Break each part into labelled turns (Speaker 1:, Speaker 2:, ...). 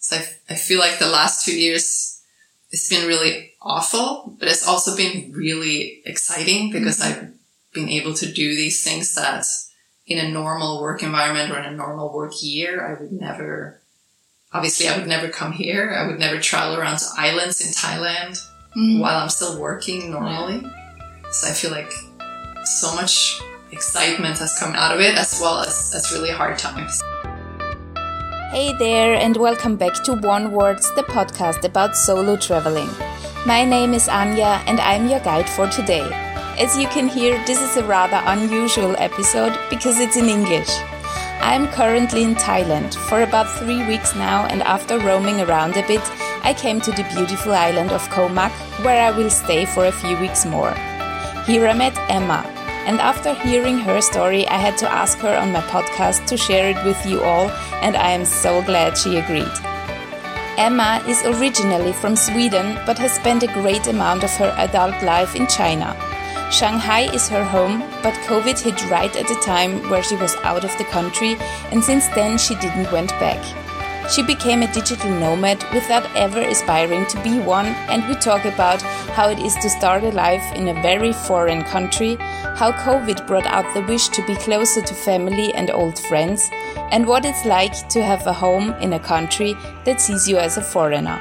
Speaker 1: So I feel like the last 2 years, it's been really awful, but it's also been really exciting because I've been able to do these things that in a normal work environment or in a normal work year, I would never come here. I would never travel around to islands in Thailand while I'm still working normally. Yeah. So I feel like so much excitement has come out of it, as well as really hard times.
Speaker 2: Hey there, and welcome back to One Words, the podcast about solo traveling. My name is Anja, and I'm your guide for today. As you can hear, this is a rather unusual episode because it's in English. I'm currently in Thailand for about 3 weeks now, and after roaming around a bit, I came to the beautiful island of Koh Mak, where I will stay for a few weeks more. Here I met Emma, and after hearing her story, I had to ask her on my podcast to share it with you all, and I am so glad she agreed. Emma is originally from Sweden, but has spent a great amount of her adult life in China. Shanghai is her home, but COVID hit right at the time where she was out of the country, and since then she didn't went back. She became a digital nomad without ever aspiring to be one, and we talk about how it is to start a life in a very foreign country, how COVID brought out the wish to be closer to family and old friends, and what it's like to have a home in a country that sees you as a foreigner.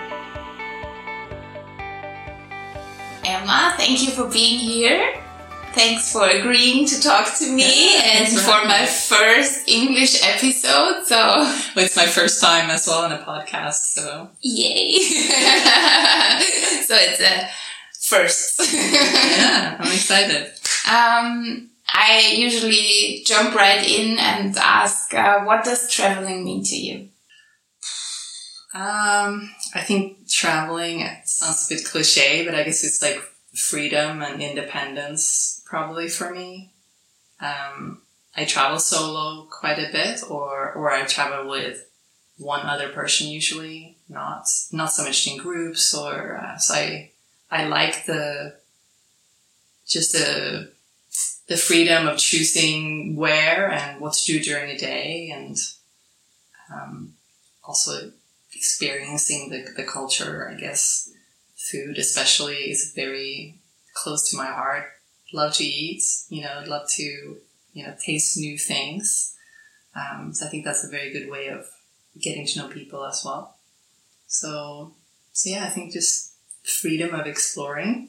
Speaker 2: Emma, thank you for being here. Thanks for agreeing to talk to me and for my first English episode. So
Speaker 1: it's my first time as well on a podcast. So
Speaker 2: yay! So it's a first.
Speaker 1: Yeah, I'm excited.
Speaker 2: I usually jump right in and ask, what does traveling mean to you?
Speaker 1: I think traveling sounds a bit cliche, but I guess it's like freedom and independence probably for me. I travel solo quite a bit, or I travel with one other person usually, not so much in groups, or so I like the freedom of choosing where and what to do during a day, and also experiencing the culture. I guess food especially is very close to my heart. Love to eat, love to, taste new things. So I think that's a very good way of getting to know people as well. So yeah, I think just freedom of exploring.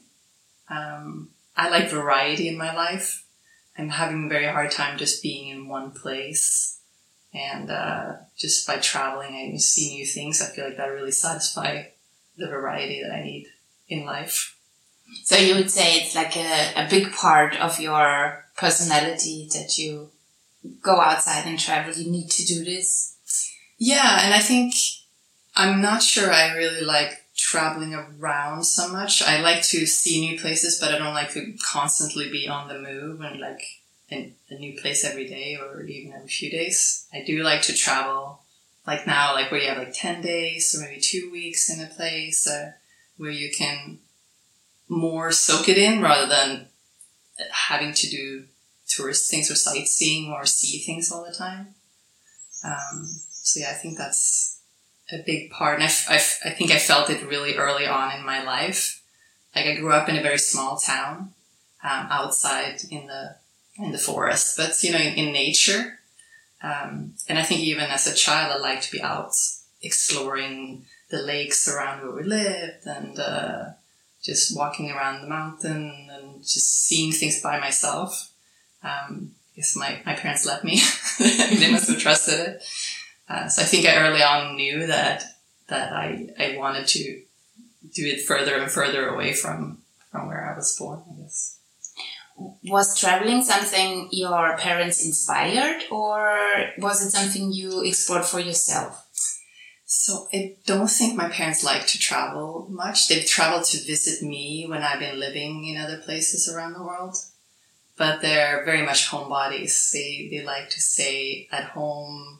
Speaker 1: I like variety in my life. I'm having a very hard time just being in one place. And just by traveling and see new things, I feel like that really satisfies the variety that I need in life.
Speaker 2: So you would say it's like a big part of your personality that you go outside and travel. You need to do this.
Speaker 1: Yeah, and I think I'm not sure I really like traveling around so much. I like to see new places, but I don't like to constantly be on the move and like in a new place every day or even every few days. I do like to travel, like now, like where you have like 10 days or maybe 2 weeks in a place where you can more soak it in rather than having to do tourist things or sightseeing or see things all the time. So yeah, I think that's a big part. And I think I felt it really early on in my life. Like I grew up in a very small town, outside in the forest, but in nature. And I think even as a child, I liked to be out exploring the lakes around where we lived and, just walking around the mountain and just seeing things by myself. I guess my parents let me. They must have trusted it. So I think I early on knew that I wanted to do it further and further away from where I was born, I guess.
Speaker 2: Was traveling something your parents inspired, or was it something you explored for yourself?
Speaker 1: So I don't think my parents like to travel much. They've traveled to visit me when I've been living in other places around the world. But they're very much homebodies. They like to stay at home.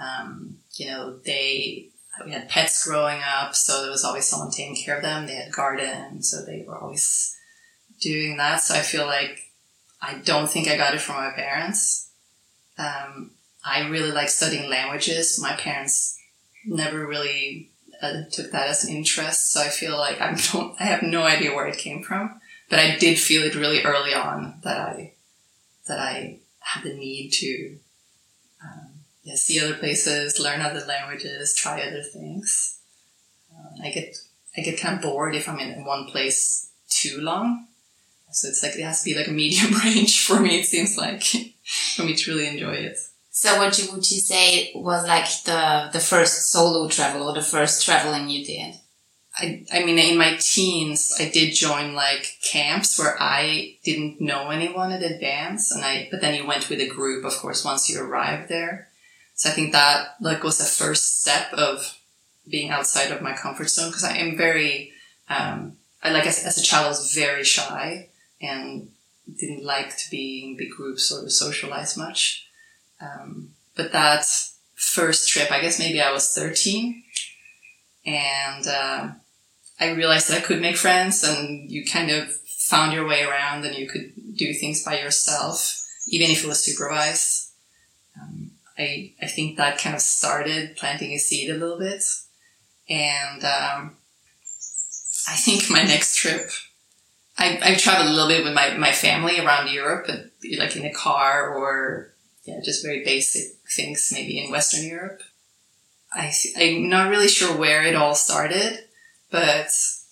Speaker 1: We had pets growing up, so there was always someone taking care of them. They had gardens, so they were always doing that. So I feel like I don't think I got it from my parents. I really like studying languages. My parents never really took that as an interest. So I feel like I have no idea where it came from, but I did feel it really early on that I had the need to see other places, learn other languages, try other things. I get kind of bored if I'm in one place too long. So it's like, it has to be like a medium range for me, it seems like, for me to really enjoy it.
Speaker 2: So would you say was like the first solo travel or the first traveling you did?
Speaker 1: I mean, in my teens, I did join like camps where I didn't know anyone in advance, but then you went with a group, of course, once you arrived there. So I think that like was the first step of being outside of my comfort zone, because I am very, as a child, I was very shy and didn't like to be in big groups or to socialize much. But that first trip, I guess maybe I was 13, and I realized that I could make friends, and you kind of found your way around and you could do things by yourself, even if it was supervised. I think that kind of started planting a seed a little bit. And I think my next trip, I traveled a little bit with my family around Europe, but like in a car or just very basic things, maybe in Western Europe. I'm not really sure where it all started, but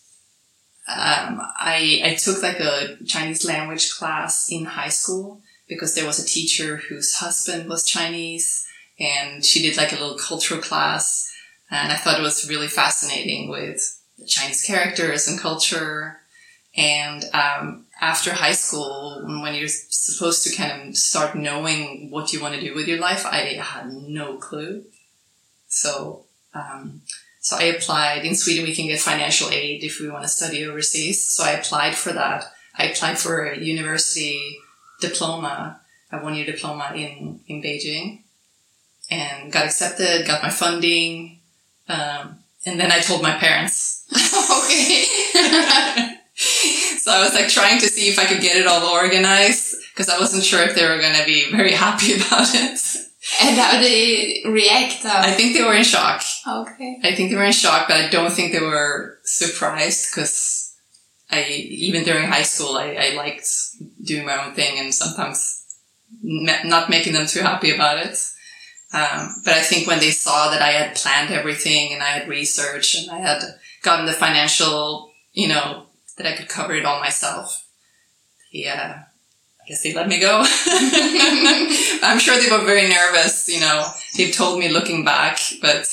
Speaker 1: I took like a Chinese language class in high school because there was a teacher whose husband was Chinese, and she did like a little cultural class, and I thought it was really fascinating with the Chinese characters and culture. And after high school, when you're supposed to kind of start knowing what you want to do with your life, I had no clue. So I applied. In Sweden, we can get financial aid if we want to study overseas. So I applied for that. I applied for a university diploma, a 1-year diploma in Beijing, and got accepted, got my funding. And then I told my parents.
Speaker 2: Okay.
Speaker 1: So I was like trying to see if I could get it all organized, because I wasn't sure if they were going to be very happy about it.
Speaker 2: And how did they react?
Speaker 1: I think they were in shock.
Speaker 2: Okay.
Speaker 1: I think they were in shock, but I don't think they were surprised, because even during high school, I liked doing my own thing and sometimes not making them too happy about it. But I think when they saw that I had planned everything and I had researched and I had gotten the financial, that I could cover it all myself, I guess they let me go. I'm sure they were very nervous, they've told me looking back, but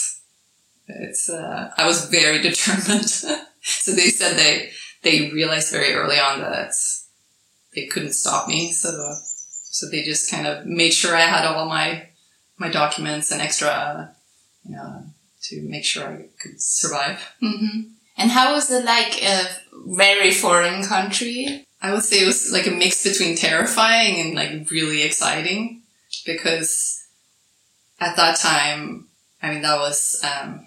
Speaker 1: I was very determined. So they said they realized very early on that they couldn't stop me. So they just kind of made sure I had all my documents and extra, to make sure I could survive.
Speaker 2: Mm-hmm. And how was it like a very foreign country?
Speaker 1: I would say it was like a mix between terrifying and like really exciting, because at that time, I mean, that was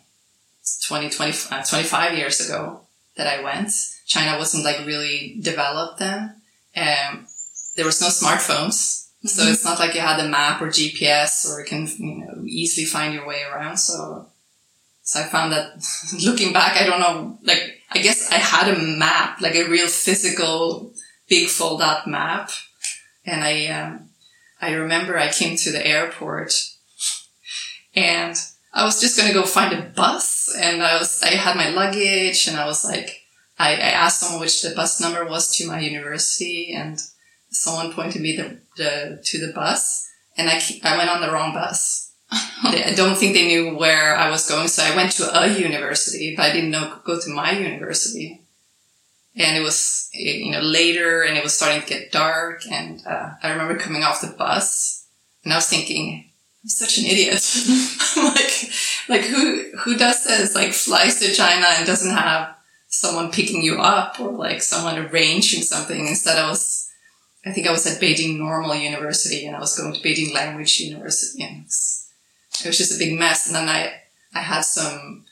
Speaker 1: 25 years ago that I went. China wasn't like really developed then. There was no smartphones. Mm-hmm. So it's not like you had a map or GPS or you can, easily find your way around. So I found that looking back, I don't know, like, I guess I had a map, like a real physical big fold-out map. And I remember I came to the airport and I was just going to go find a bus, and I had my luggage, and I was like, I asked someone which the bus number was to my university, and someone pointed me to the bus, and I went on the wrong bus. I don't think they knew where I was going, so I went to a university, but I didn't go to my university. And it was, later, and it was starting to get dark, and I remember coming off the bus, and I was thinking, I'm such an idiot. I'm like who does this? Like, flies to China and doesn't have someone picking you up or like someone arranging something. Instead, I think I was at Beijing Normal University, and I was going to Beijing Language University, and it was just a big mess. And then I had some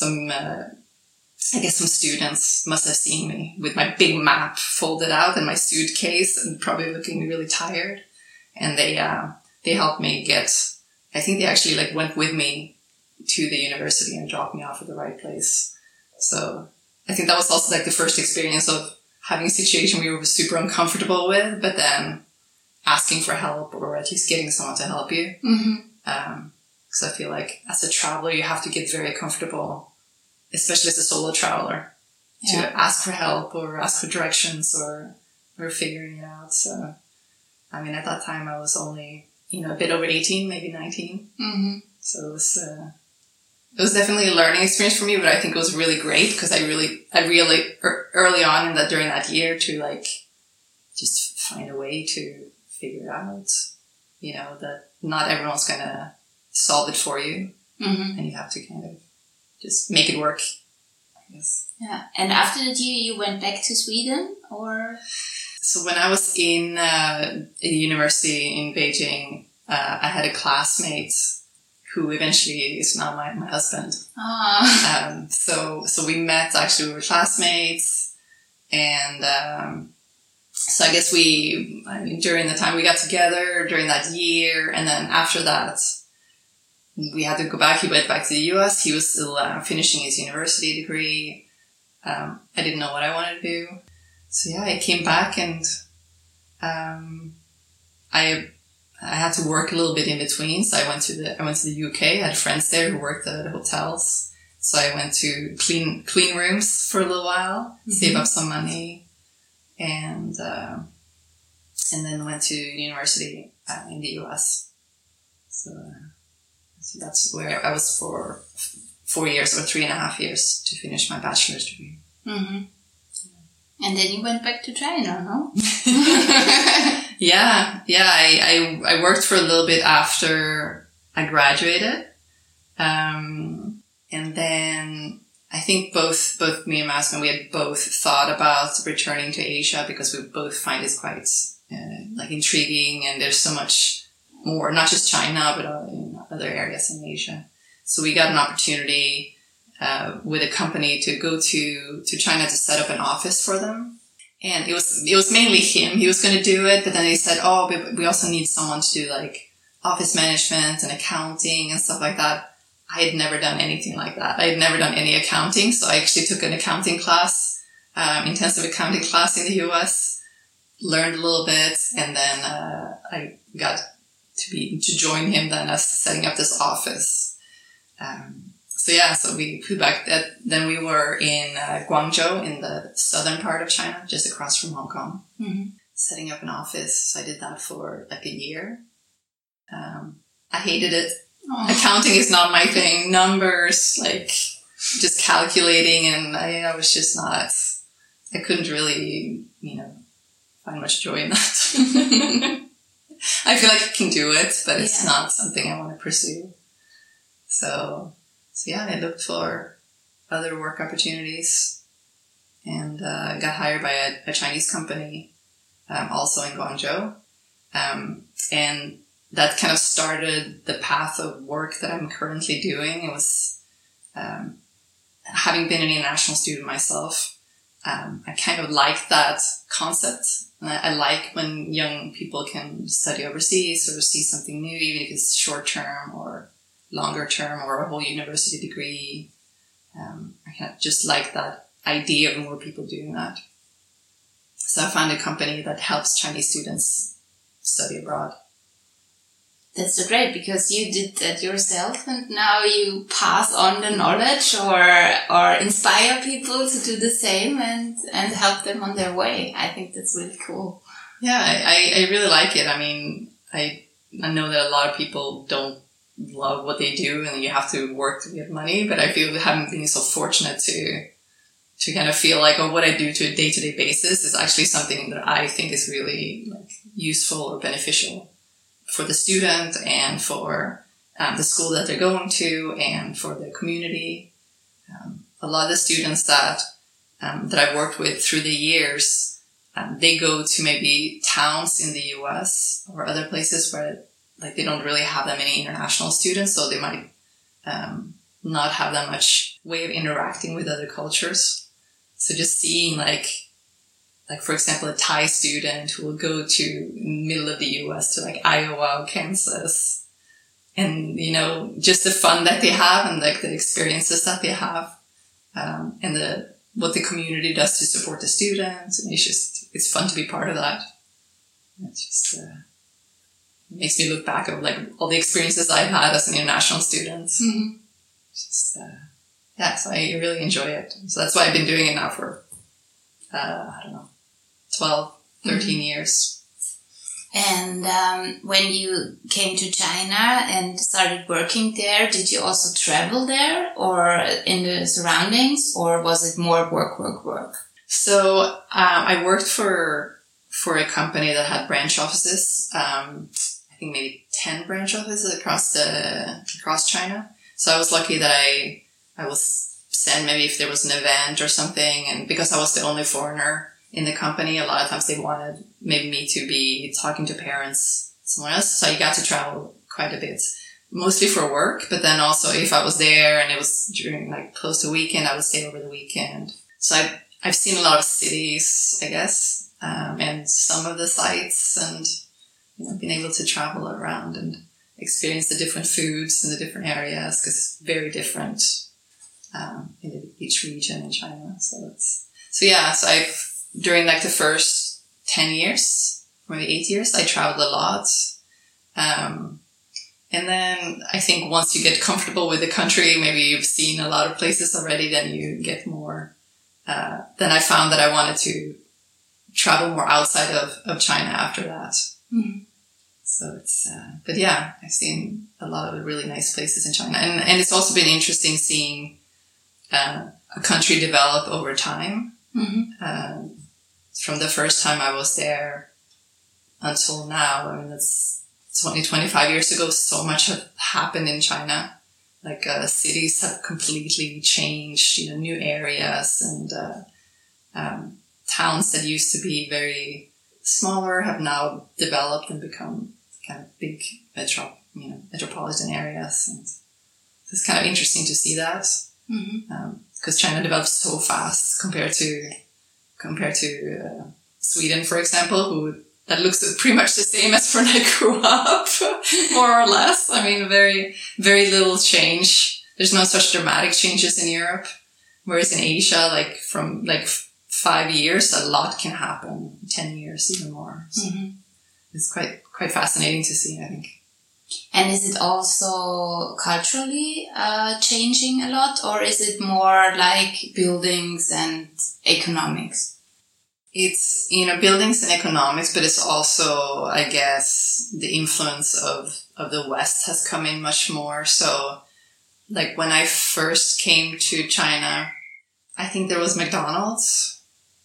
Speaker 1: I guess some students must have seen me with my big map folded out and my suitcase and probably looking really tired. And they helped me I think they actually like went with me to the university and drop me off at the right place. So I think that was also like the first experience of having a situation we were super uncomfortable with, but then asking for help or at least getting someone to help you. Because I feel like as a traveler, you have to get very comfortable, especially as a solo traveler, to ask for help or ask for directions or figuring it out. So, I mean, at that time I was only, a bit over 18, maybe 19. So it was definitely a learning experience for me, but I think it was really great because I really early on during that year to like just find a way to figure it out, that not everyone's going to solve it for you. And you have to kind of just make it work, I guess.
Speaker 2: Yeah. And after that year, you went back to Sweden, or?
Speaker 1: So when I was in a university in Beijing, I had a classmate who eventually is now my husband. So we met, actually, we were classmates. And so I guess during the time we got together, during that year, and then after that, we had to go back. He went back to the US. He was still finishing his university degree. I didn't know what I wanted to do. So yeah, I came back and I had to work a little bit in between. So I went to the UK. I had friends there who worked at hotels. So I went to clean rooms for a little while, save up some money, and then went to university in the US. So that's where I was for 4 years or 3.5 years to finish my bachelor's degree.
Speaker 2: And then you went back to China, no?
Speaker 1: Yeah. I worked for a little bit after I graduated. And then I think both me and my husband, we had both thought about returning to Asia because we both find it quite intriguing, and there's so much more, not just China, but in other areas in Asia. So we got an opportunity with a company to go to China to set up an office for them. And it was mainly him. He was going to do it, but then they said, but we also need someone to do like office management and accounting and stuff like that. I had never done anything like that. I had never done any accounting. So I actually took an accounting class, intensive accounting class in the US, learned a little bit, and then I got to join him then as setting up this office. So we flew back. Then we were in Guangzhou in the southern part of China, just across from Hong Kong, setting up an office. So I did that for like a year. I hated it. Accounting is not my thing. Numbers, like just calculating, and I was just not. I couldn't really, find much joy in that. I feel like I can do it, but it's not something I want to pursue. So yeah, I looked for other work opportunities and got hired by a Chinese company, also in Guangzhou. And that kind of started the path of work that I'm currently doing. It was, having been an international student myself, I kind of like that concept. And I like when young people can study overseas or see something new, even if it's short term or longer term or a whole university degree. I kind of just like that idea of more people doing that. So I found a company that helps Chinese students study abroad.
Speaker 2: That's so great, because you did that yourself and now you pass on the knowledge or inspire people to do the same and help them on their way. I think that's really cool.
Speaker 1: Yeah, I really like it. I mean, I know that a lot of people don't love what they do and you have to work to get money, but I feel having been so fortunate to kind of feel like, what I do to a day-to-day basis is actually something that I think is really like useful or beneficial for the student and for the school that they're going to and for the community. A lot of the students that I've worked with through the years, they go to maybe towns in the US or other places where like they don't really have that many international students, so they might not have that much way of interacting with other cultures. So just seeing like for example, a Thai student who will go to middle of the US to like Iowa or Kansas and, you know, just the fun that they have and like the experiences that they have, and what the community does to support the students. And it's fun to be part of that. It just makes me look back at like all the experiences I've had as an international student.
Speaker 2: Mm-hmm.
Speaker 1: Just, so I really enjoy it. So that's why I've been doing it now for, 12, 13 years.
Speaker 2: And when you came to China and started working there, did you also travel there or in the surroundings, or was it more work?
Speaker 1: So I worked for a company that had branch offices. I think maybe 10 branch offices across China. So I was lucky that I was sent maybe if there was an event or something, and because I was the only foreigner in the company, a lot of times they wanted maybe me to be talking to parents somewhere else. So I got to travel quite a bit, mostly for work, but then also if I was there and it was during like close to weekend, I would stay over the weekend. So I've seen a lot of cities, I guess, and some of the sites, and, you know, being able to travel around and experience the different foods in the different areas, because it's very different in each region in China. So I've, during like the first 10 years, maybe 8 years, I traveled a lot. And then I think once you get comfortable with the country, maybe you've seen a lot of places already, then you get more, then I found that I wanted to travel more outside of China after that.
Speaker 2: Mm-hmm.
Speaker 1: So it's, but yeah, I've seen a lot of really nice places in China. And it's also been interesting seeing, a country develop over time.
Speaker 2: Mm-hmm.
Speaker 1: From the first time I was there until now, I mean, it's 25 years ago, so much had happened in China. Like, cities have completely changed, you know, new areas, and, towns that used to be very smaller have now developed and become kind of big metropolitan areas. And it's kind of interesting to see that.
Speaker 2: Mm-hmm.
Speaker 1: Because China develops so fast compared to Sweden, for example, that looks pretty much the same as when I grew up, more or less. I mean, very, very little change. There's no such dramatic changes in Europe. Whereas in Asia, like from like 5 years, a lot can happen. 10 years, even more. So it's quite fascinating to see, I think.
Speaker 2: And is it also culturally changing a lot, or is it more like buildings and economics?
Speaker 1: It's, you know, buildings and economics, but it's also, I guess, the influence of the West has come in much more. So, like, when I first came to China, I think there was McDonald's,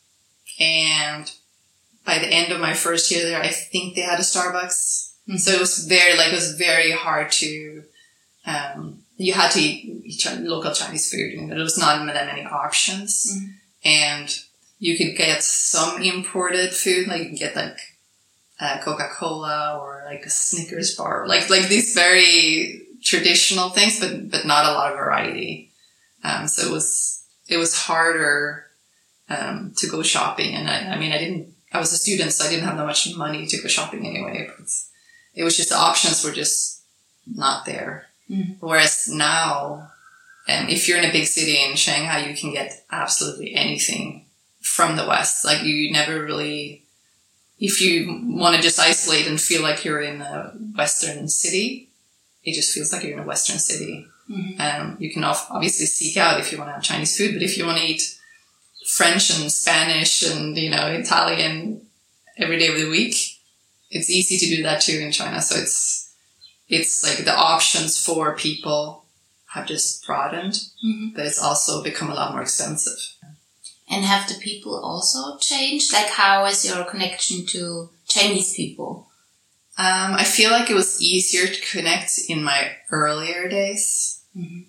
Speaker 1: and by the end of my first year there, I think they had a Starbucks. So it was very hard to, you had to eat local Chinese food, and there was not that many options. And you could get some imported food, like you can get like, Coca-Cola or like a Snickers bar, like these very traditional things, but not a lot of variety. So it was harder, to go shopping. And I was a student, so I didn't have that much money to go shopping anyway, but it was just the options were just not there. Whereas now, if you're in a big city in Shanghai, you can get absolutely anything from the West. Like, you never really, if you want to just isolate and feel like you're in a Western city, it just feels like you're in a Western city. You can obviously seek out if you want to have Chinese food, but if you want to eat French and Spanish and, you know, Italian every day of the week, it's easy to do that too in China. So it's like the options for people have just broadened, but it's also become a lot more expensive.
Speaker 2: And have the people also changed? Like, how is your connection to Chinese people?
Speaker 1: I feel like it was easier to connect in my earlier days.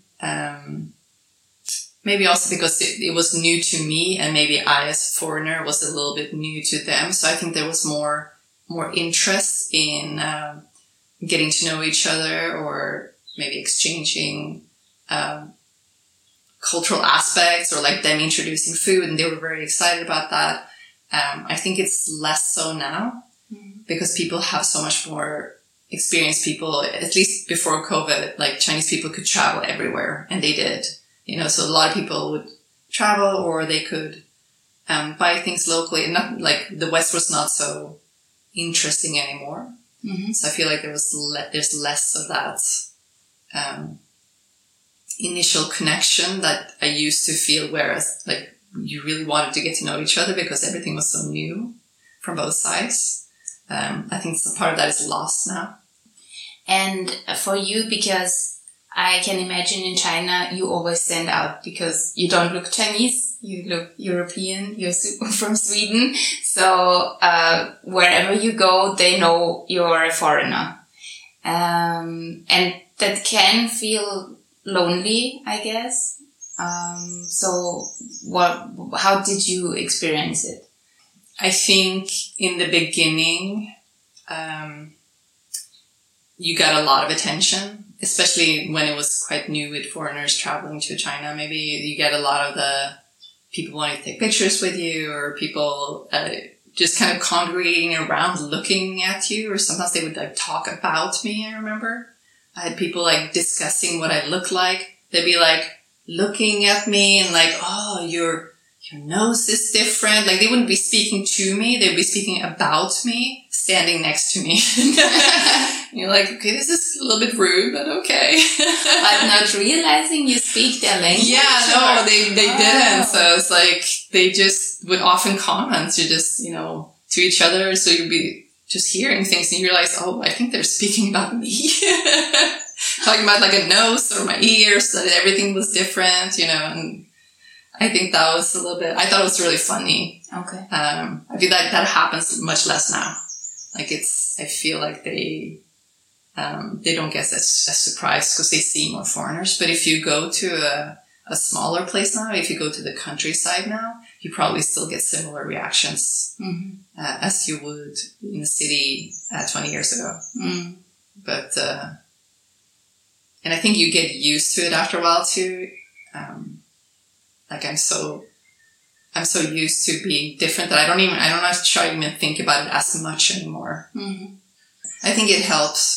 Speaker 1: Maybe also because it was new to me, and maybe I as a foreigner was a little bit new to them. So I think there was more interest in getting to know each other, or maybe exchanging cultural aspects, or like them introducing food, and they were very excited about that. I think it's less so now because people have so much more experienced people, at least before COVID, like Chinese people could travel everywhere, and they did. So a lot of people would travel, or they could buy things locally, and not like the West was not so interesting anymore. Mm-hmm. So I feel like there's less of that initial connection that I used to feel, whereas like you really wanted to get to know each other because everything was so new from both sides. I think some part of that is lost now.
Speaker 2: And for you, because I can imagine in China, you always stand out because you don't look Chinese, you look European, you're from Sweden. So wherever you go, they know you're a foreigner. And that can feel lonely, I guess. So how did you experience it?
Speaker 1: I think in the beginning, you got a lot of attention, especially when it was quite new with foreigners traveling to China. Maybe you get a lot of the people wanting to take pictures with you, or people just kind of congregating around looking at you, or sometimes they would like talk about me. I remember I had people like discussing what I look like. They'd be like looking at me and like, oh, your nose is different. Like they wouldn't be speaking to me. They'd be speaking about me, standing next to me. You're like, okay, this is a little bit rude, but okay.
Speaker 2: But not realizing you speak their language?
Speaker 1: Yeah, no, they didn't. So it's like, they just would often comment to just, to each other. So you'd be just hearing things and you realize, oh, I think they're speaking about me. Talking about like a nose or my ears, that everything was different, and I think that was a little bit, I thought it was really funny.
Speaker 2: Okay.
Speaker 1: I feel like that happens much less now. Like I feel like they don't get as surprised because they see more foreigners. But if you go to a smaller place now, if you go to the countryside now, you probably still get similar reactions as you would in the city 20 years ago. Mm. But, and I think you get used to it after a while too. Like I'm so used to being different that I don't have to try to even think about it as much anymore. Mm-hmm. I think it helps.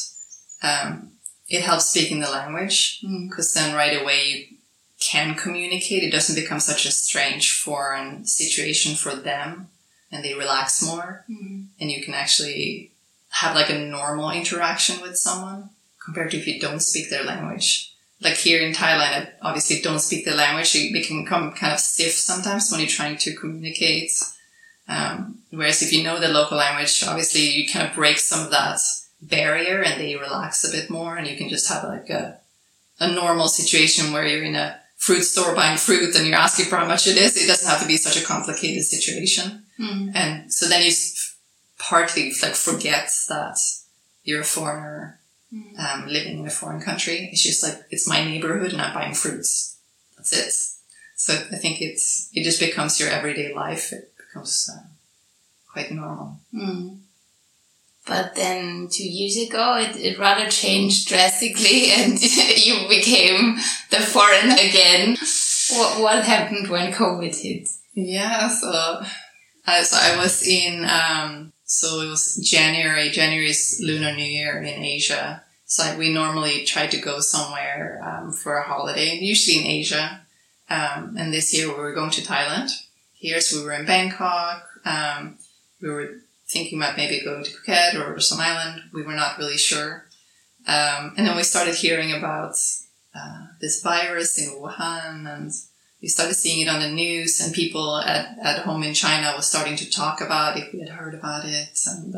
Speaker 1: It helps speaking the language because then right away you can communicate. It doesn't become such a strange foreign situation for them, and they relax more, and you can actually have like a normal interaction with someone compared to if you don't speak their language. Like here in Thailand, I obviously don't speak the language. It can become kind of stiff sometimes when you're trying to communicate. Whereas if you know the local language, obviously you kind of break some of that barrier and they relax a bit more, and you can just have like a normal situation where you're in a fruit store buying fruit and you're asking for how much it is. It doesn't have to be such a complicated situation. Mm-hmm. And so then you partly like forget that you're a foreigner living in a foreign country. It's just like, it's my neighborhood and I'm buying fruits. That's it. So I think it just becomes your everyday life. It becomes quite normal. Mm.
Speaker 2: But then 2 years ago, it rather changed drastically and you became the foreigner again. What happened when COVID hit?
Speaker 1: Yeah, so I was in, so it was January. January is Lunar New Year in Asia. So we normally try to go somewhere for a holiday, usually in Asia. And this year we were going to Thailand. Here, so we were in Bangkok. We were thinking about maybe going to Phuket or some island. We were not really sure. And then we started hearing about this virus in Wuhan, and we started seeing it on the news, and people at home in China was starting to talk about if we had heard about it.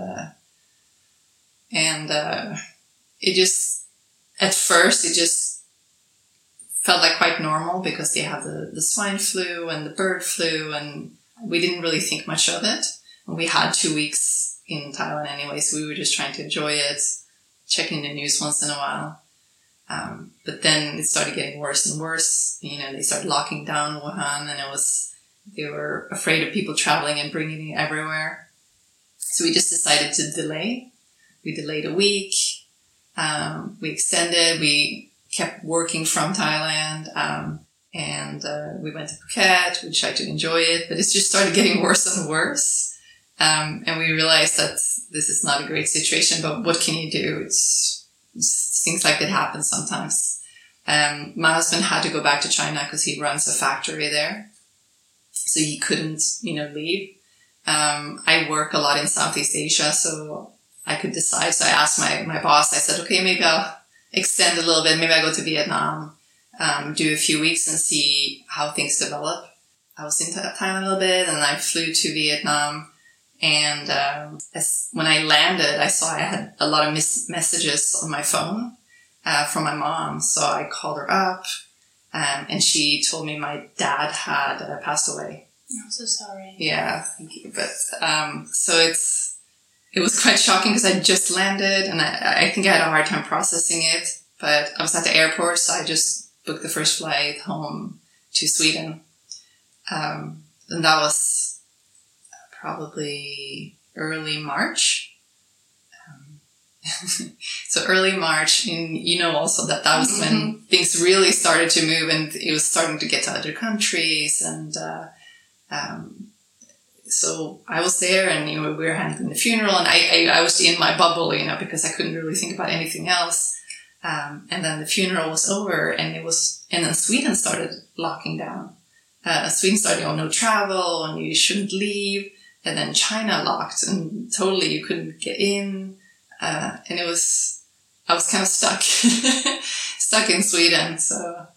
Speaker 1: And it just, at first, it just felt like quite normal because they have the swine flu and the bird flu, and we didn't really think much of it. And we had 2 weeks in Thailand anyway, so we were just trying to enjoy it, checking the news once in a while. But then it started getting worse and worse. They started locking down Wuhan, and they were afraid of people traveling and bringing it everywhere. So we just decided to delay. We delayed a week. We extended. We kept working from Thailand. And we went to Phuket. We tried to enjoy it, but it just started getting worse and worse. And we realized that this is not a great situation, but what can you do? It's things like that happen sometimes. My husband had to go back to China because he runs a factory there. So he couldn't, leave. I work a lot in Southeast Asia, so I could decide. So I asked my boss, I said, okay, maybe I'll extend a little bit. Maybe I'll go to Vietnam, do a few weeks and see how things develop. I was in Thailand a little bit and I flew to Vietnam. And when I landed, I saw I had a lot of messages on my phone from my mom. So I called her up and she told me my dad had passed away.
Speaker 2: I'm so sorry.
Speaker 1: Yeah, thank you. But so it was quite shocking because I just landed and I think I had a hard time processing it. But I was at the airport, so I just booked the first flight home to Sweden. And that was probably early March. So early March, and also that was when things really started to move and it was starting to get to other countries. And so I was there and, we were handling the funeral and I was in my bubble, because I couldn't really think about anything else. And then the funeral was over and then Sweden started locking down. Sweden started, no travel and you shouldn't leave. And then China locked and totally you couldn't get in. And I was kind of stuck in Sweden. So,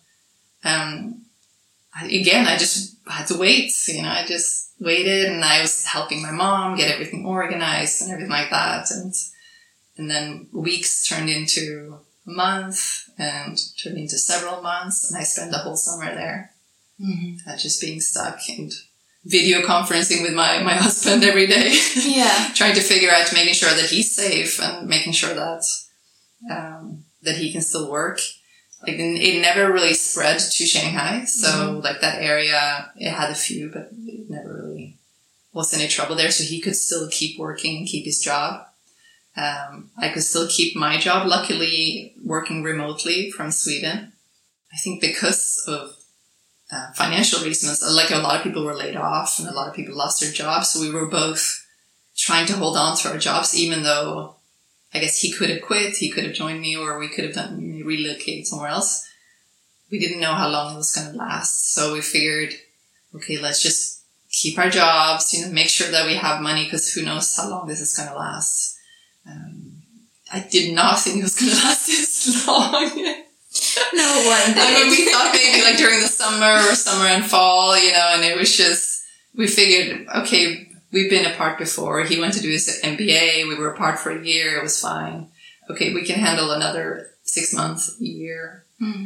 Speaker 1: I just had to wait, I just waited and I was helping my mom get everything organized and everything like that. And then weeks turned into a month and turned into several months. And I spent the whole summer there, just being stuck and video conferencing with my husband every day.
Speaker 2: Yeah.
Speaker 1: Trying to figure out, making sure that he's safe and making sure that he can still work. Like, it never really spread to Shanghai. So, like, that area, it had a few, but it never really was any trouble there. So he could still keep working and keep his job. I could still keep my job, luckily working remotely from Sweden. I think because of financial reasons, like a lot of people were laid off and a lot of people lost their jobs. So we were both trying to hold on to our jobs, even though I guess he could have quit, he could have joined me, or we could have relocated somewhere else. We didn't know how long it was going to last. So we figured, okay, let's just keep our jobs, make sure that we have money because who knows how long this is going to last. I did not think it was going to last this long.
Speaker 2: No one did.
Speaker 1: We thought maybe like during the summer and fall, and it was just, we figured, okay, we've been apart before. He went to do his MBA. We were apart for a year. It was fine. Okay, we can handle another 6 months, a year.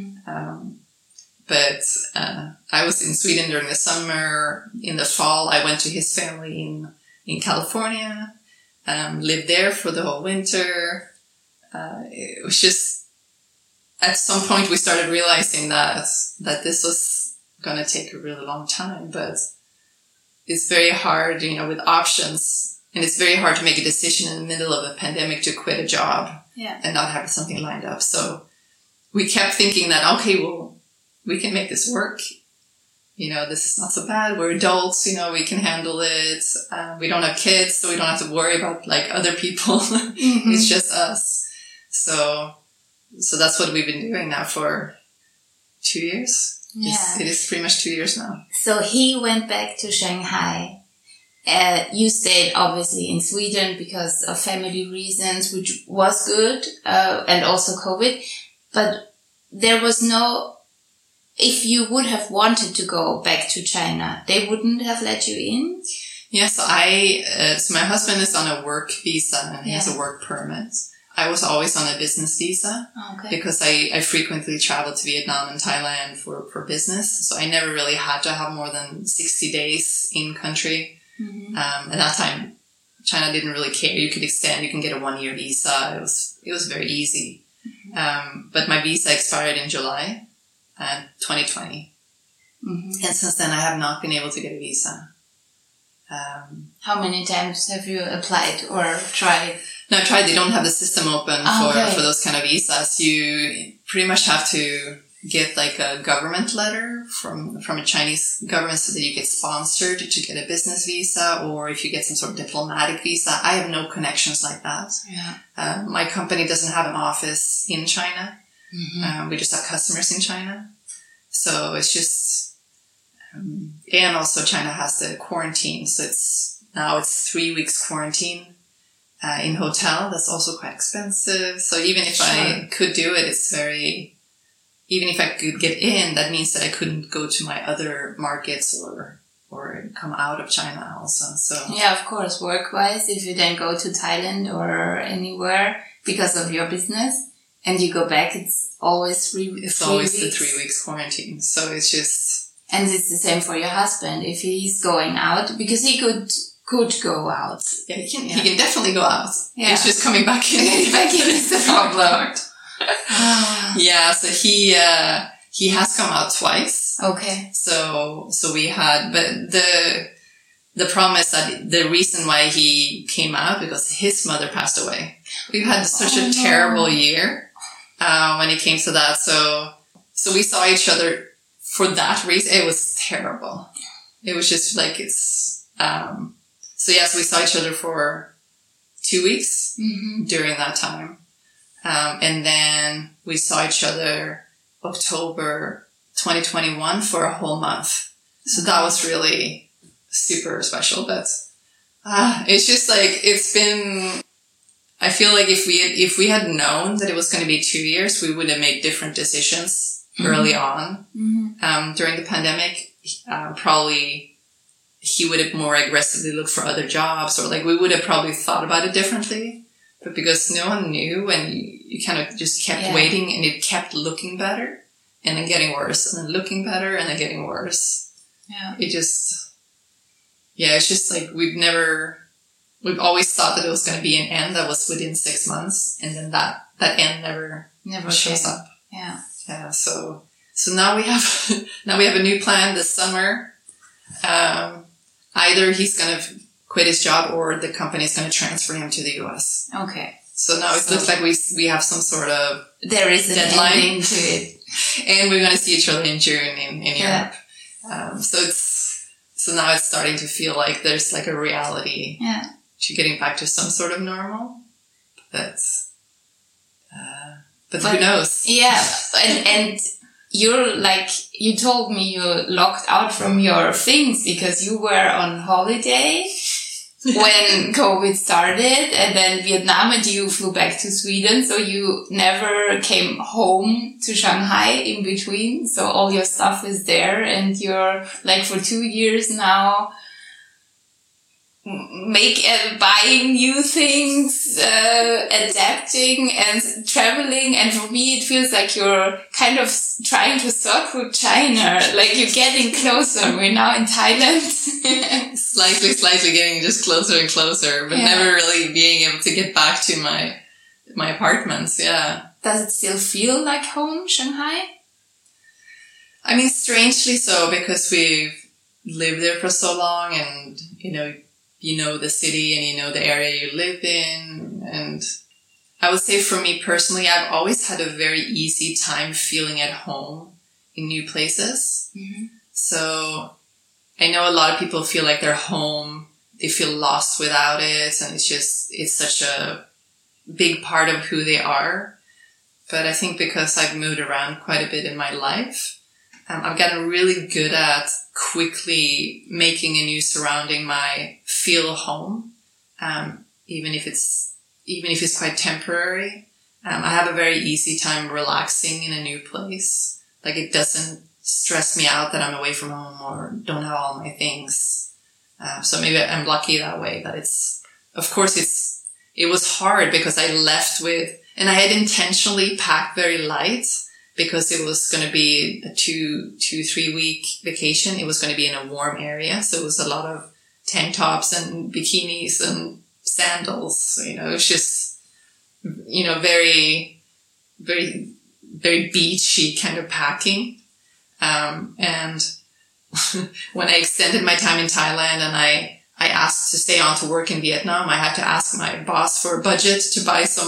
Speaker 1: But I was in Sweden during the summer. In the fall, I went to his family in California. Lived there for the whole winter. It was just, at some point we started realizing that this was going to take a really long time, but it's very hard, with options, and it's very hard to make a decision in the middle of a pandemic to quit a job and not have something lined up. So we kept thinking that, okay, well, we can make this work. This is not so bad. We're adults, we can handle it. We don't have kids, so we don't have to worry about like other people. It's just us. So that's what we've been doing now for 2 years.
Speaker 2: Yeah.
Speaker 1: It is pretty much 2 years now.
Speaker 2: So he went back to Shanghai. You stayed obviously in Sweden because of family reasons, which was good, and also COVID. But there was no, if you would have wanted to go back to China, they wouldn't have let you in?
Speaker 1: Yeah, so my husband is on a work visa and he has a work permit. I was always on a business visa because I frequently traveled to Vietnam and Thailand for business. So I never really had to have more than 60 days in country. At that time, China didn't really care. You could extend, you can get a 1-year visa. It was very easy. But my visa expired in July 2020. And since then I have not been able to get a visa.
Speaker 2: How many times have you applied or tried?
Speaker 1: No, I tried. They don't have the system open for those kind of visas. You pretty much have to get like a government letter from a Chinese government so that you get sponsored to get a business visa, or if you get some sort of diplomatic visa. I have no connections like that.
Speaker 2: Yeah.
Speaker 1: My company doesn't have an office in China.
Speaker 2: Mm-hmm.
Speaker 1: We just have customers in China. So it's just, and also China has the quarantine. So it's 3 weeks quarantine in hotel. That's also quite expensive. So even if I could do it, even if I could get in, that means that I couldn't go to my other markets or come out of China also. So
Speaker 2: yeah, of course, work-wise, if you then go to Thailand or anywhere because of your business and you go back, it's always 3 weeks.
Speaker 1: It's always the 3 weeks quarantine. So it's just...
Speaker 2: And it's the same for your husband. If he's going out, because he could go out.
Speaker 1: Yeah, he can definitely go out.
Speaker 2: Yeah.
Speaker 1: It's just coming back in.
Speaker 2: Back in is the problem.
Speaker 1: Yeah, so he has come out twice.
Speaker 2: Okay.
Speaker 1: So we had, but the problem is that the reason why he came out, because his mother passed away. We've had such a terrible year, when it came to that. So we saw each other for that reason. It was terrible. It was just like, so yes, we saw each other for 2 weeks during that time. And then we saw each other October 2021 for a whole month. So that was really super special. But it's just like, it's been, I feel like if we had known that it was going to be 2 years, we would have made different decisions early on. During the pandemic, probably he would have more aggressively looked for other jobs, or like we would have probably thought about it differently. But because no one knew, and you kind of just kept waiting, and it kept looking better and then getting worse, and then looking better and then getting worse.
Speaker 2: Yeah.
Speaker 1: It's just like we've always thought that it was going to be an end that was within 6 months, and then that end never shows up.
Speaker 2: Yeah.
Speaker 1: Yeah. So now we have a new plan this summer. Either he's going to quit his job, or the company is going to transfer him to the US.
Speaker 2: Okay.
Speaker 1: So now it looks like we have some sort of
Speaker 2: there is a deadline to it,
Speaker 1: and we're going to see each other in June in Europe. So now it's starting to feel like there's like a reality to getting back to some sort of normal. But who knows?
Speaker 2: Yeah, and you're like, you told me you locked out from your things because you were on holiday when COVID started, and then Vietnam, and you flew back to Sweden. So you never came home to Shanghai in between. So all your stuff is there, and you're like for 2 years now buying new things, adapting and traveling. And for me, it feels like you're kind of trying to circle China, like you're getting closer. We're now in Thailand.
Speaker 1: slightly getting just closer and closer, but never really being able to get back to my apartments. Yeah.
Speaker 2: Does it still feel like home, Shanghai?
Speaker 1: I mean, strangely so, because we've lived there for so long, and you know the city, and you know the area you live in. And I would say for me personally, I've always had a very easy time feeling at home in new places. So I know a lot of people feel like they're home, they feel lost without it, and it's such a big part of who they are. But I think because I've moved around quite a bit in my life, I've gotten really good at quickly making a new surrounding feel home, even if it's quite temporary. I have a very easy time relaxing in a new place. Like, it doesn't stress me out that I'm away from home or don't have all my things. So maybe I'm lucky that way. That it was hard because I left and I had intentionally packed very light, because it was going to be a 2-3 week vacation. It was going to be in a warm area. So it was a lot of tank tops and bikinis and sandals. It was just, very, very, very beachy kind of packing. And when I extended my time in Thailand and I asked to stay on to work in Vietnam, I had to ask my boss for a budget to buy some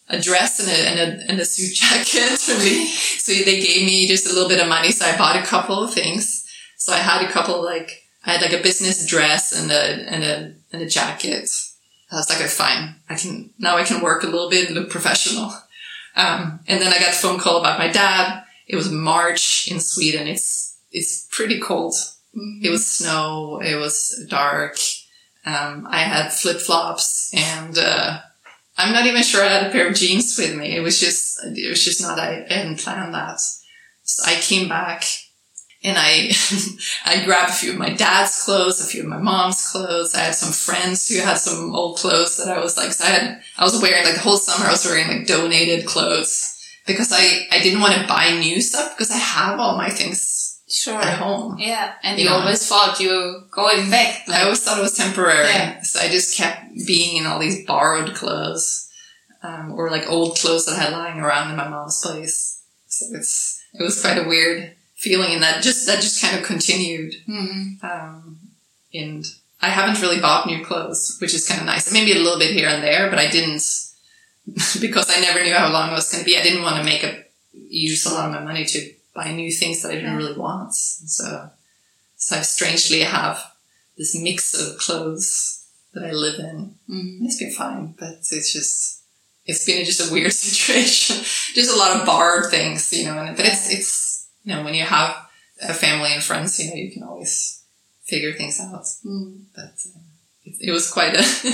Speaker 1: a dress and a suit jacket for me. So they gave me just a little bit of money. So I bought a couple of things. So I had a couple, like, I had like a business dress and a jacket. I was like, fine. I can work a little bit and look professional. And then I got a phone call about my dad. It was March in Sweden. It's pretty cold. Mm-hmm. It was snow. It was dark. I had flip-flops and, I'm not even sure I had a pair of jeans with me. It was just not, I hadn't planned that. So I came back and I grabbed a few of my dad's clothes, a few of my mom's clothes. I had some friends who had some old clothes that I was like, so I was wearing like the whole summer, I was wearing like donated clothes because I didn't want to buy new stuff because I have all my things at home.
Speaker 2: Yeah. And you always thought you were going back.
Speaker 1: I always thought it was temporary. Yeah. So I just kept being in all these borrowed clothes, or like old clothes that I had lying around in my mom's place. So it was quite a weird feeling, and that just kind of continued. Mm-hmm. And I haven't really bought new clothes, which is kind of nice. Maybe a little bit here and there, but I didn't, because I never knew how long it was going to be. I didn't want to use a lot of my money to buy new things that I didn't really want. So I strangely have this mix of clothes that I live in. Mm-hmm. It's been fine, but it's been just a weird situation. Just a lot of borrowed things, but it's, when you have a family and friends, you can always figure things out. Mm. But it was quite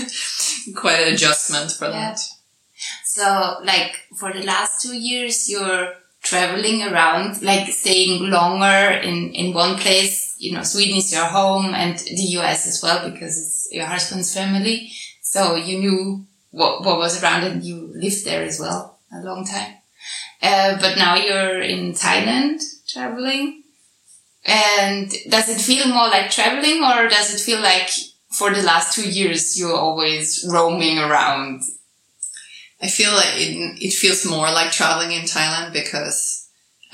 Speaker 1: an adjustment for that.
Speaker 2: So, like, for the last 2 years, you're traveling around, like staying longer in one place. Sweden is your home and the US as well, because it's your husband's family. So you knew what was around and you lived there as well a long time. But now you're in Thailand traveling. And does it feel more like traveling, or does it feel like for the last 2 years you're always roaming around?
Speaker 1: I feel like it feels more like traveling in Thailand because,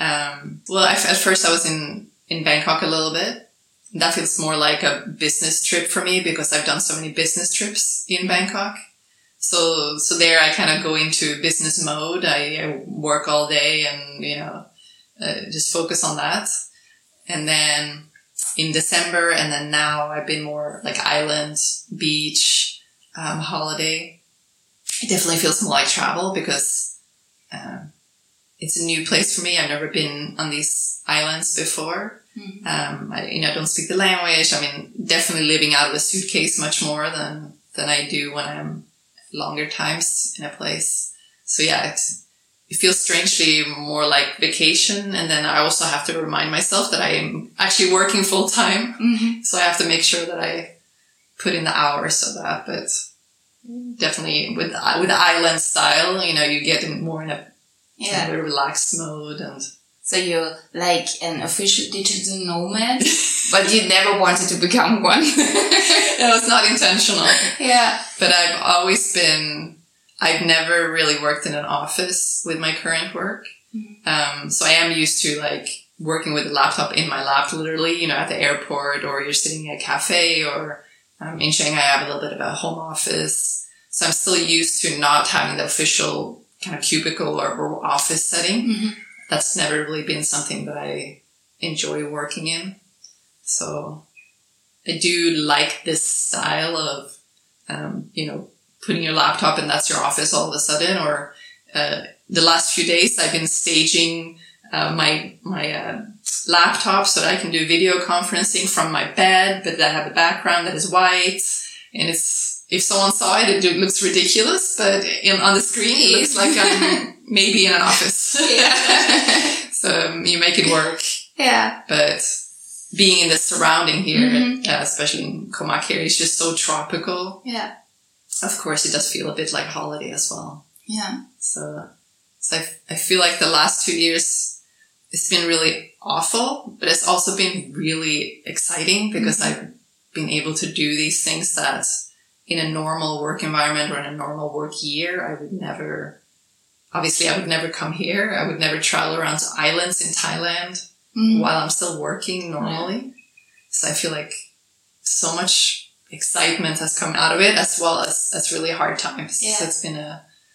Speaker 1: at first I was in Bangkok a little bit. That feels more like a business trip for me because I've done so many business trips in Bangkok. So there I kind of go into business mode. I work all day and, just focus on that. And then in December and then now I've been more like island, beach, holiday. It definitely feels more like travel because it's a new place for me. I've never been on these islands before. Mm-hmm. I don't speak the language. I mean, definitely living out of a suitcase much more than I do when I'm longer times in a place. So yeah, it feels strangely more like vacation. And then I also have to remind myself that I am actually working full time. Mm-hmm. So I have to make sure that I put in the hours of that, but definitely with the island style, you get more in a kind of a relaxed mode. And
Speaker 2: so you're like an official digital nomad, but you never wanted to become one.
Speaker 1: It was not intentional.
Speaker 2: Yeah.
Speaker 1: But I've never really worked in an office with my current work. Mm-hmm. So I am used to like working with a laptop in my lap, literally, at the airport, or you're sitting in a cafe, or in Shanghai, I have a little bit of a home office. So I'm still used to not having the official kind of cubicle or office setting. Mm-hmm. That's never really been something that I enjoy working in. So I do like this style of, putting your laptop and that's your office all of a sudden. Or the last few days I've been staging my laptop so that I can do video conferencing from my bed, but I have a background that is white. And if someone saw it, it looks ridiculous, but on the screen, it looks like I'm maybe in an office. Yeah. So you make it work.
Speaker 2: Yeah.
Speaker 1: But being in the surrounding here, mm-hmm. Especially in Komak here, it's just so tropical.
Speaker 2: Yeah.
Speaker 1: Of course, it does feel a bit like holiday as well.
Speaker 2: Yeah.
Speaker 1: So I feel like the last 2 years, it's been really awful, but it's also been really exciting because mm-hmm. I've been able to do these things that in a normal work environment or in a normal work year, I would never come here. I would never travel around to islands in Thailand mm-hmm. while I'm still working normally. Yeah. So I feel like so much excitement has come out of it, as well as really hard times. Yeah. So it's been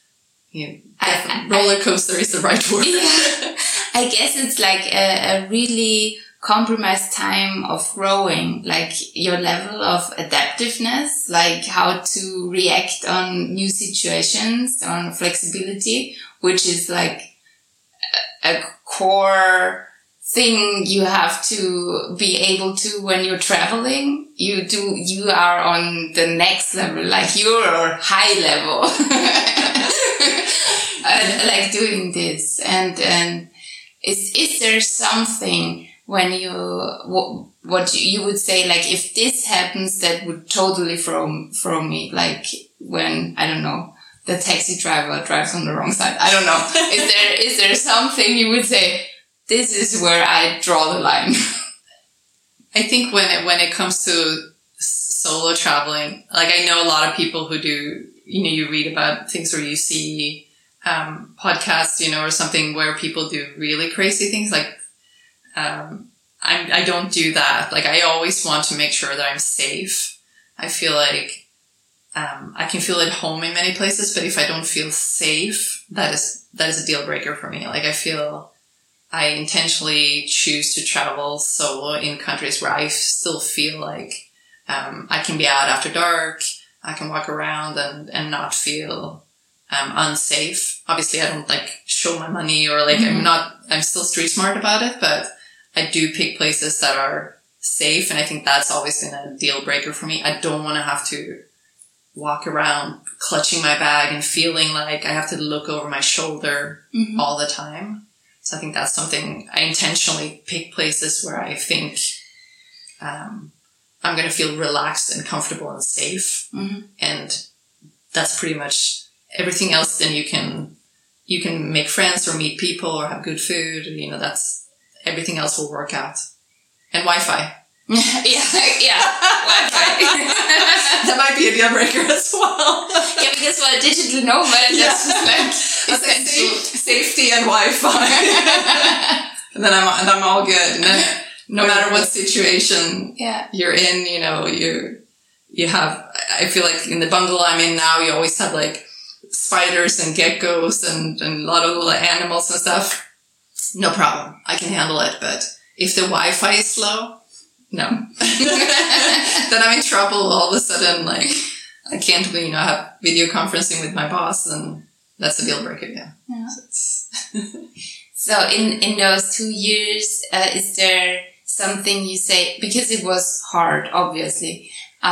Speaker 1: roller coaster is the right word.
Speaker 2: Yeah. I guess it's like a really compromised time of growing, like your level of adaptiveness, like how to react on new situations, on flexibility, which is like a core thing you have to be able to when you're traveling. You are on the next level, like you're high level, like doing this. And is there something when what you would say, like, if this happens, that would totally throw me, like when, I don't know, the taxi driver drives on the wrong side. I don't know. Is there something you would say, this is where I draw the line?
Speaker 1: I think when it comes to solo traveling, like I know a lot of people who do, you read about things or you see podcasts, or something where people do really crazy things. Like, I don't do that. Like, I always want to make sure that I'm safe. I feel like, I can feel at home in many places, but if I don't feel safe, that is a deal breaker for me. Like, I feel I intentionally choose to travel solo in countries where I still feel like, I can be out after dark. I can walk around and not feel, unsafe. Obviously, I don't like show my money or like, I'm still street smart about it, but I do pick places that are safe. And I think that's always been a deal breaker for me. I don't want to have to walk around clutching my bag and feeling like I have to look over my shoulder all the time. So I think that's something I intentionally pick places where I think, I'm going to feel relaxed and comfortable and safe. And that's pretty much everything else. Then you can make friends or meet people or have good food. That's everything else will work out. And Wi-Fi.
Speaker 2: yeah, Wi-Fi.
Speaker 1: That might be a deal breaker as well.
Speaker 2: Yeah, because we're a digital nomad, that's just like essential.
Speaker 1: Safety and Wi-Fi. And then I'm all good. And then no matter what situation you're in, you have, I feel like in the bungalow I'm in now, you always have like spiders and geckos and a lot of little animals and stuff. No problem. I can handle it. But if the Wi-Fi is slow, no. Then I'm in trouble all of a sudden. Like, I can't, have video conferencing with my boss, and that's a deal breaker. Yeah.
Speaker 2: So in those 2 years, is there something you say, because it was hard, obviously,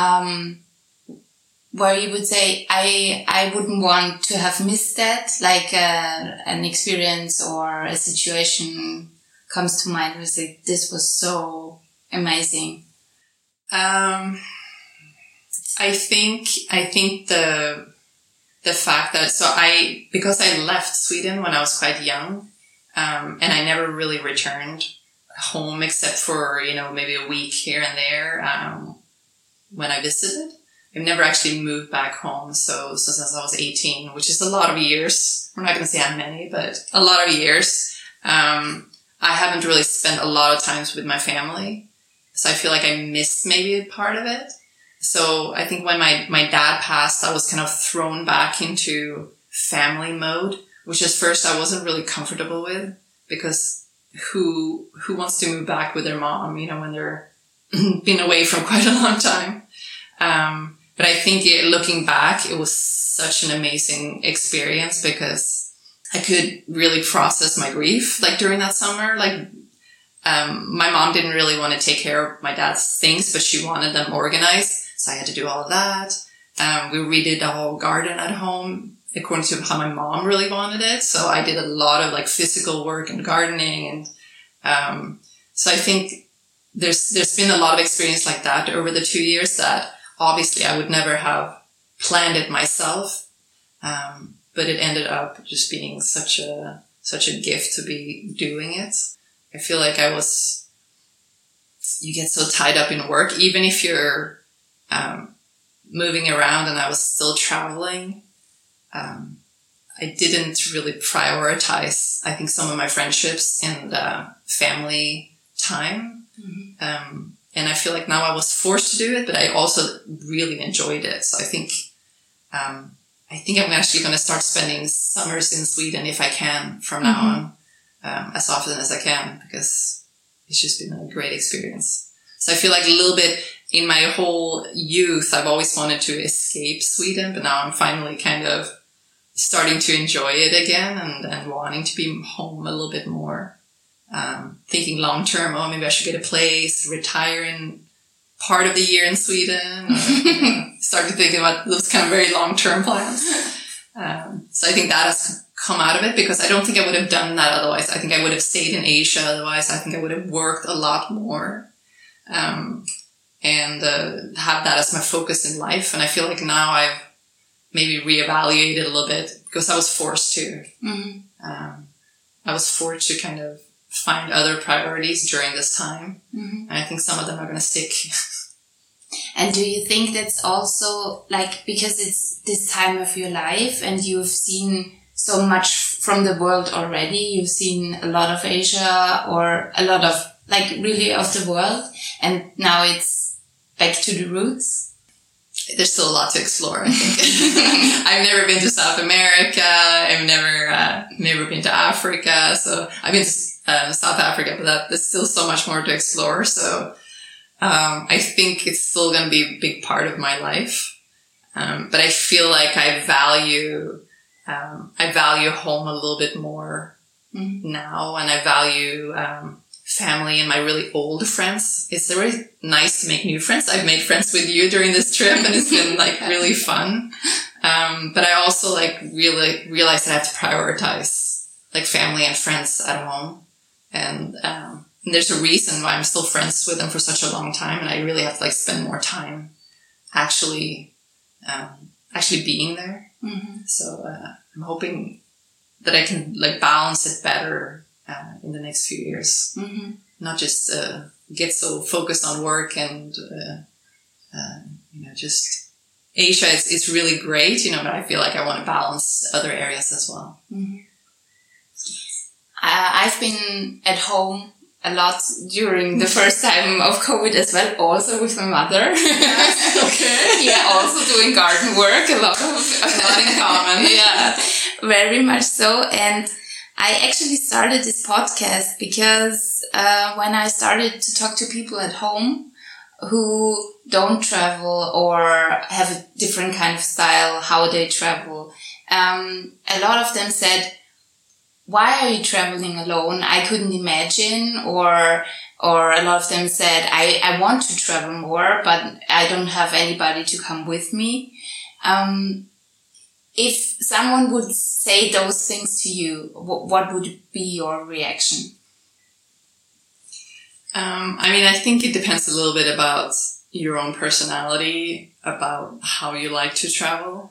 Speaker 2: where you would say, I wouldn't want to have missed that, like an experience or a situation comes to mind where you say, this was so amazing?
Speaker 1: I think the fact that, because I left Sweden when I was quite young, and I never really returned home except for, maybe a week here and there, when I visited. I've never actually moved back home. So since I was 18, which is a lot of years, we're not going to say how many, but a lot of years, I haven't really spent a lot of times with my family. So I feel like I missed maybe a part of it. So I think when my dad passed, I was kind of thrown back into family mode, which at first I wasn't really comfortable with, because who wants to move back with their mom, when they're been away for quite a long time. But I think looking back, it was such an amazing experience because I could really process my grief, like during that summer. Like, my mom didn't really want to take care of my dad's things, but she wanted them organized. So I had to do all of that. We redid the whole garden at home according to how my mom really wanted it. So I did a lot of like physical work and gardening. And, so I think there's been a lot of experience like that over the 2 years that obviously I would never have planned it myself. But it ended up just being such a gift to be doing it. I feel like you get so tied up in work, even if you're, moving around, and I was still traveling. I didn't really prioritize, I think, some of my friendships and, family time. And I feel like now I was forced to do it, but I also really enjoyed it. So I think I think I'm actually going to start spending summers in Sweden if I can from now on, as often as I can, because it's just been a great experience. So I feel like a little bit in my whole youth, I've always wanted to escape Sweden, but now I'm finally kind of starting to enjoy it again and wanting to be home a little bit more. Thinking long term, maybe I should get a place, retire in part of the year in Sweden, or, start to think about those kind of very long term plans. So I think that has come out of it, because I don't think I would have done that otherwise. I think I would have stayed in Asia otherwise. I think I would have worked a lot more. And have that as my focus in life. And I feel like now I've maybe reevaluated a little bit, because I was forced to. I was forced to kind of find other priorities during this time. And I think some of them are going to stick.
Speaker 2: And do you think that's also like, because it's this time of your life and you've seen so much from the world already, you've seen a lot of Asia or a lot of like really of the world, and now it's back to the roots?
Speaker 1: There's still a lot to explore, I think. I've never been to South America. I've never been to Africa. So I've been to South Africa, but there's still so much more to explore. So I think it's still going to be a big part of my life. But I feel like I value home a little bit more now, and I value family and my really old friends. It's really nice to make new friends. I've made friends with you during this trip, and it's been like really fun. But I also like really realized that I have to prioritize like family and friends at home. And there's a reason why I'm still friends with them for such a long time. And I really have to like spend more time actually being there. So I'm hoping that I can like balance it better in the next few years. Not just get so focused on work and just Asia. It's really great, but I feel like I want to balance other areas as well.
Speaker 2: I've been at home a lot during the first time of COVID as well, also with my mother.
Speaker 1: Okay.
Speaker 2: Yeah, also doing garden work, a lot
Speaker 1: in common.
Speaker 2: Yeah, very much so. And I actually started this podcast because when I started to talk to people at home who don't travel or have a different kind of style, how they travel, a lot of them said, "Why are you traveling alone? I couldn't imagine." Or a lot of them said, I want to travel more, but I don't have anybody to come with me. If someone would say those things to you, what would be your reaction?
Speaker 1: I think it depends a little bit about your own personality, about how you like to travel.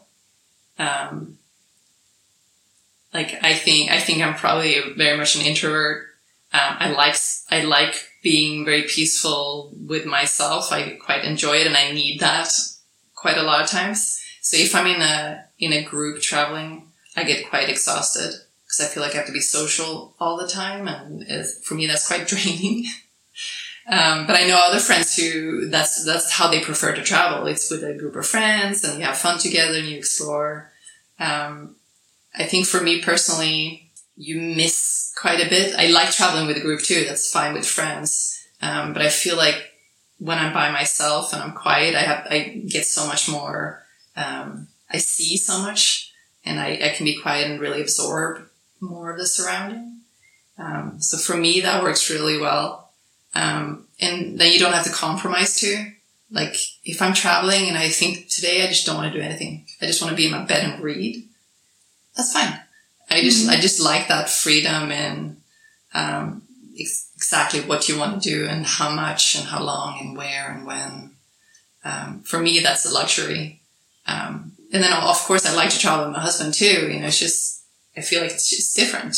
Speaker 1: I think I'm probably very much an introvert. I like being very peaceful with myself. I quite enjoy it, and I need that quite a lot of times. So if I'm in a group traveling, I get quite exhausted because I feel like I have to be social all the time, and for me that's quite draining. But I know other friends who that's how they prefer to travel. It's with a group of friends, and you have fun together and you explore. I think for me personally, you miss quite a bit. I like traveling with a group too. That's fine with friends. But I feel like when I'm by myself and I'm quiet, I get so much more, I see so much, and I can be quiet and really absorb more of the surrounding. So for me, that works really well. And then you don't have to compromise too. Like if I'm traveling and I think today I just don't want to do anything, I just want to be in my bed and read, that's fine. I just like that freedom and exactly what you want to do and how much and how long and where and when. For me, that's a luxury. And then of course I like to travel with my husband too. It's just, I feel like it's just different.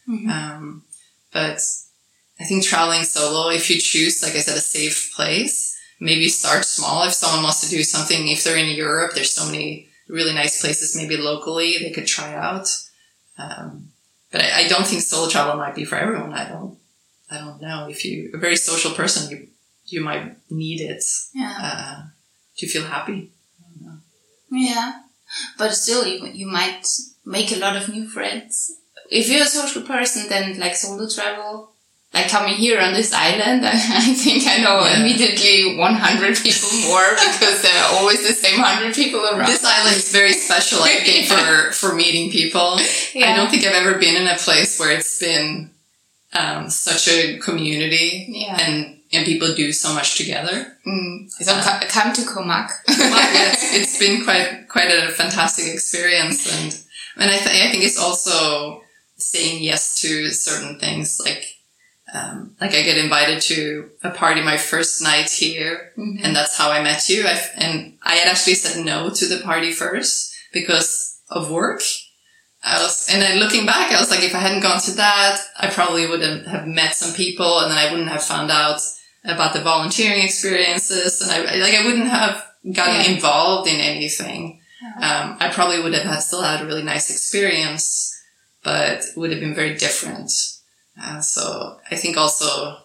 Speaker 1: But I think traveling solo, if you choose, like I said, a safe place, maybe start small. If someone wants to do something, if they're in Europe, there's so many really nice places, maybe locally they could try out. But I don't think solo travel might be for everyone. I don't know. If you're a very social person, you might need it, to feel happy. I don't know.
Speaker 2: Yeah. But still, you might make a lot of new friends. If you're a social person, then like solo travel, like coming here on this island, I think I know immediately 100 people more because there are always the same 100 people around.
Speaker 1: This island is very special, I think, for meeting people. Yeah. I don't think I've ever been in a place where it's been such a community and people do so much together.
Speaker 2: So come to Comac.
Speaker 1: It's been quite a fantastic experience, and I think it's also saying yes to certain things. Like I get invited to a party my first night here, and that's how I met you. I had actually said no to the party first because of work. And then looking back, I was like, if I hadn't gone to that, I probably wouldn't have met some people, and then I wouldn't have found out about the volunteering experiences, and I wouldn't have gotten involved in anything. I probably would have still had a really nice experience, but it would have been very different. So I think also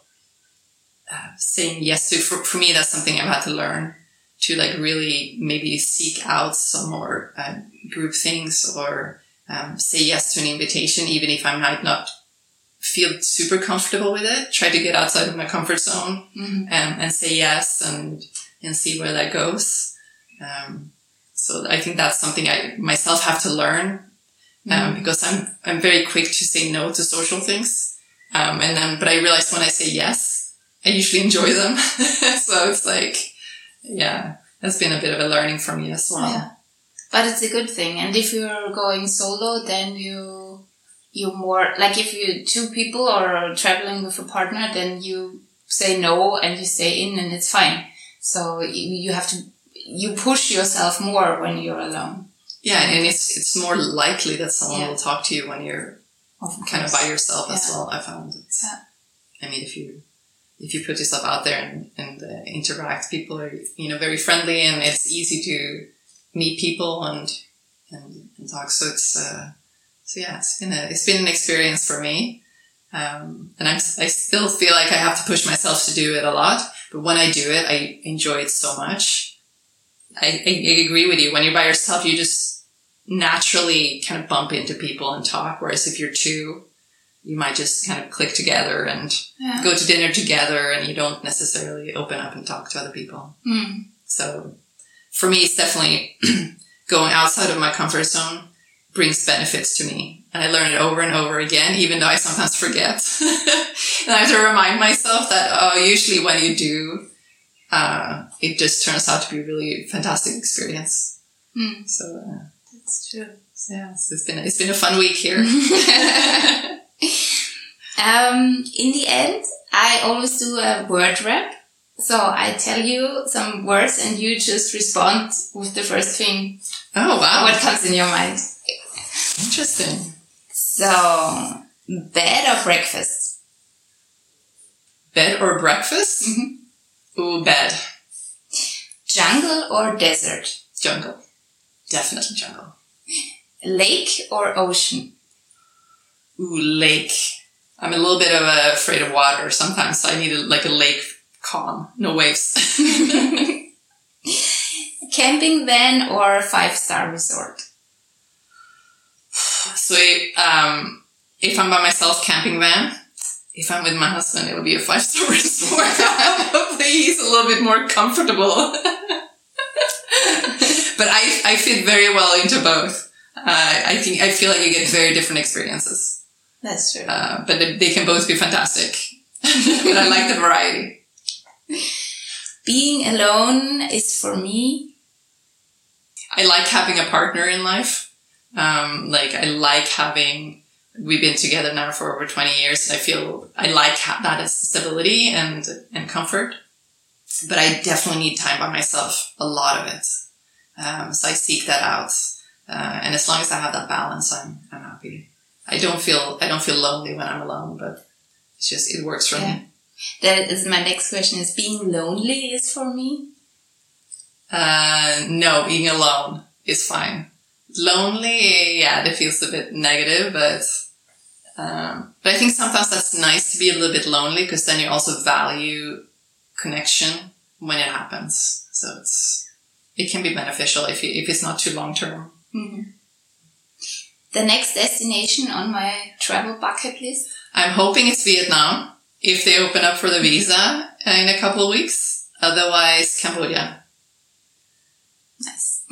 Speaker 1: saying yes to, for me, that's something I've had to learn to like really maybe seek out some more group things or say yes to an invitation, even if I might not feel super comfortable with it. Try to get outside of my comfort zone and say yes and see where that goes. So I think that's something I myself have to learn because I'm very quick to say no to social things. But I realized when I say yes, I usually enjoy them. So it's like, it's been a bit of a learning for me as well.
Speaker 2: Yeah. But it's a good thing. And if you're going solo, then you're more, like if you two people are traveling with a partner, then you say no and you stay in and it's fine. So you push yourself more when you're alone.
Speaker 1: Yeah. And it's more likely that someone will talk to you when you're kind of by yourself as well. I found it. I mean, if you put yourself out there and interact, people are, very friendly, and it's easy to meet people and talk. So it's been an experience for me. And I still feel like I have to push myself to do it a lot, but when I do it, I enjoy it so much. I agree with you. When you're by yourself, you just naturally kind of bump into people and talk. Whereas if you're two, you might just kind of click together and go to dinner together, and you don't necessarily open up and talk to other people. So for me, it's definitely going outside of my comfort zone brings benefits to me. And I learn it over and over again, even though I sometimes forget. And I have to remind myself that, usually when you do, it just turns out to be a really fantastic experience. So,
Speaker 2: that's true.
Speaker 1: Yeah, so it's been a fun week here.
Speaker 2: In the end, I always do a word rap. So I tell you some words and you just respond with the first thing.
Speaker 1: Oh, wow.
Speaker 2: What comes in your mind.
Speaker 1: Interesting.
Speaker 2: So, bed or breakfast?
Speaker 1: Bed or breakfast? Ooh, bed.
Speaker 2: Jungle or desert?
Speaker 1: Jungle. Definitely jungle.
Speaker 2: Lake or ocean?
Speaker 1: Ooh, lake. I'm a little bit afraid of water sometimes, so I need a lake calm, no waves.
Speaker 2: Camping van or 5-star resort?
Speaker 1: So if I'm by myself, camping van. If I'm with my husband, it'll be a 5-star resort. Hopefully he's a little bit more comfortable. But I fit very well into both. I feel like you get very different experiences.
Speaker 2: That's true.
Speaker 1: But they can both be fantastic. But I like the variety.
Speaker 2: Being alone is for me.
Speaker 1: I like having a partner in life. I like having, we've been together now for over 20 years. And I feel I like that as stability and comfort. But I definitely need time by myself, a lot of it. So I seek that out. And as long as I have that balance, I'm happy. I don't feel lonely when I'm alone, but it works for me.
Speaker 2: That is my next question, is being lonely is for me?
Speaker 1: No, being alone is fine. Lonely, that feels a bit negative, but I think sometimes that's nice to be a little bit lonely, because then you also value connection when it happens. So it can be beneficial if it's not too long term.
Speaker 2: Mm-hmm. The next destination on my travel bucket list?
Speaker 1: I'm hoping it's Vietnam, if they open up for the visa in a couple of weeks. Otherwise, Cambodia.
Speaker 2: Nice.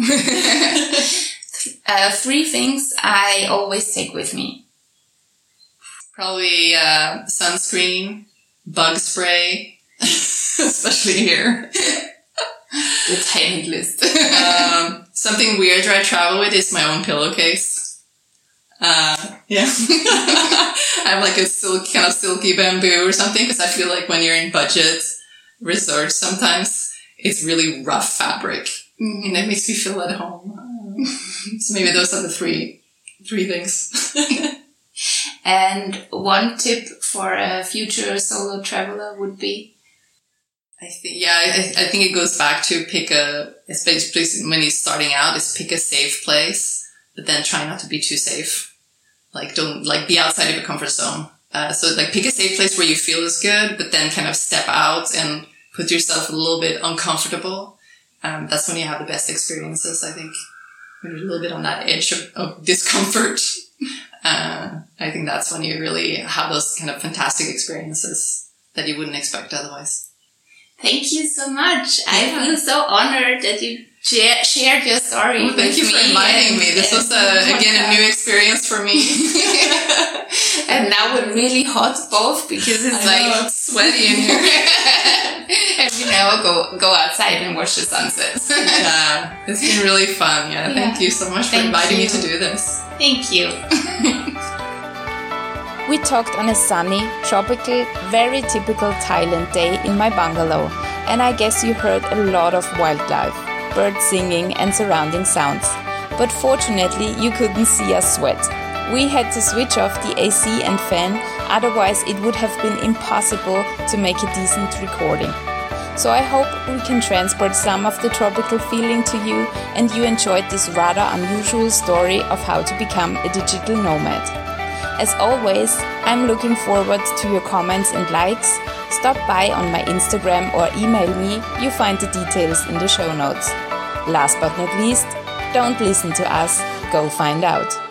Speaker 2: 3 things I always take with me.
Speaker 1: Probably sunscreen, bug spray, especially here.
Speaker 2: The tiny list.
Speaker 1: Something weird I travel with is my own pillowcase. Yeah. I have like a kind of silky bamboo or something, because I feel like when you're in budget resorts, sometimes it's really rough fabric, and it makes me feel at home. So maybe those are the three things.
Speaker 2: And one tip for a future solo traveler would be?
Speaker 1: I think it goes back to especially when you're starting out, is pick a safe place, but then try not to be too safe. Like, don't, like, be outside of your comfort zone. So, like, pick a safe place where you feel is good, but then kind of step out and put yourself a little bit uncomfortable. That's when you have the best experiences, I think. When you're a little bit on that edge of discomfort. I think that's when you really have those kind of fantastic experiences that you wouldn't expect otherwise.
Speaker 2: Thank you so much. Yeah. I feel so honored that you shared your story.
Speaker 1: Well, thank you for inviting me. This was again a new experience for me.
Speaker 2: And now we're really hot both, because it's
Speaker 1: sweaty in here.
Speaker 2: And we now go outside and watch the sunsets.
Speaker 1: Yeah, it's been really fun. Yeah, thank you so much for inviting me to do this.
Speaker 2: Thank you.
Speaker 3: We talked on a sunny, tropical, very typical Thailand day in my bungalow, and I guess you heard a lot of wildlife, birds singing and surrounding sounds. But fortunately, you couldn't see us sweat. We had to switch off the AC and fan, otherwise it would have been impossible to make a decent recording. So I hope we can transport some of the tropical feeling to you, and you enjoyed this rather unusual story of how to become a digital nomad. As always, I'm looking forward to your comments and likes. Stop by on my Instagram or email me. You find the details in the show notes. Last but not least, don't listen to us, go find out.